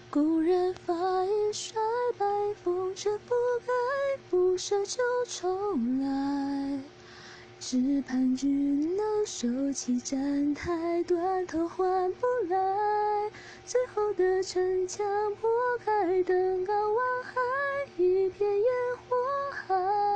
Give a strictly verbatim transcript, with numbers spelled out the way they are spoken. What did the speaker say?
故人发已衰败，风尘覆盖，不舍就重来。只盼只能收起站台，断头换不来。最后的城墙破开，登高望海，一片烟火海。